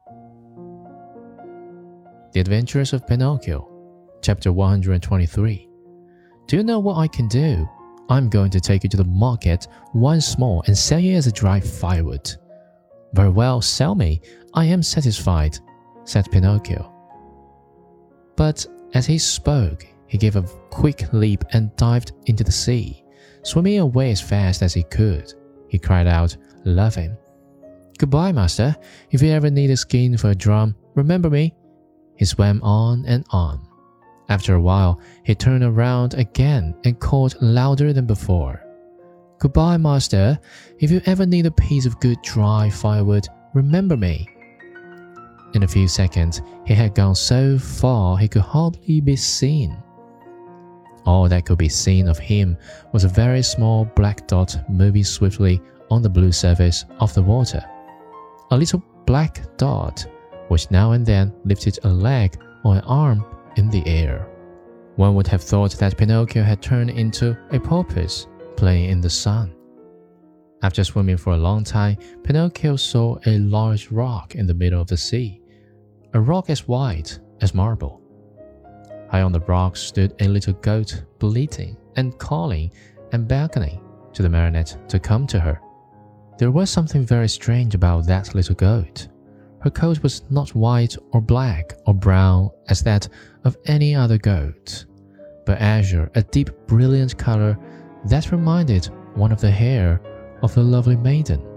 The Adventures of Pinocchio, Chapter 123. Do you know what I can do? I'm going to take you to the market once more and sell you as a dry firewood. Very well, sell me. I am satisfied, said Pinocchio. But as he spoke, he gave a quick leap and dived into the sea, swimming away as fast as he could. He cried out, laughing, "Goodbye, master. If you ever need a skin for a drum, remember me." He swam on and on. After a while, he turned around again and called louder than before, "Goodbye, master. If you ever need a piece of good dry firewood, remember me." In a few seconds, he had gone so far he could hardly be seen. All that could be seen of him was a very small black dot moving swiftly on the blue surface of the water. A little black dot, which now and then lifted a leg or an arm in the air. One would have thought that Pinocchio had turned into a porpoise playing in the sun. After swimming for a long time, Pinocchio saw a large rock in the middle of the sea, a rock as white as marble. High on the rock stood a little goat, bleating and calling and beckoning to the marionette to come to her. There was something very strange about that little goat. Her coat was not white or black or brown as that of any other goat, but azure, a deep brilliant color that reminded one of the hair of the lovely maiden.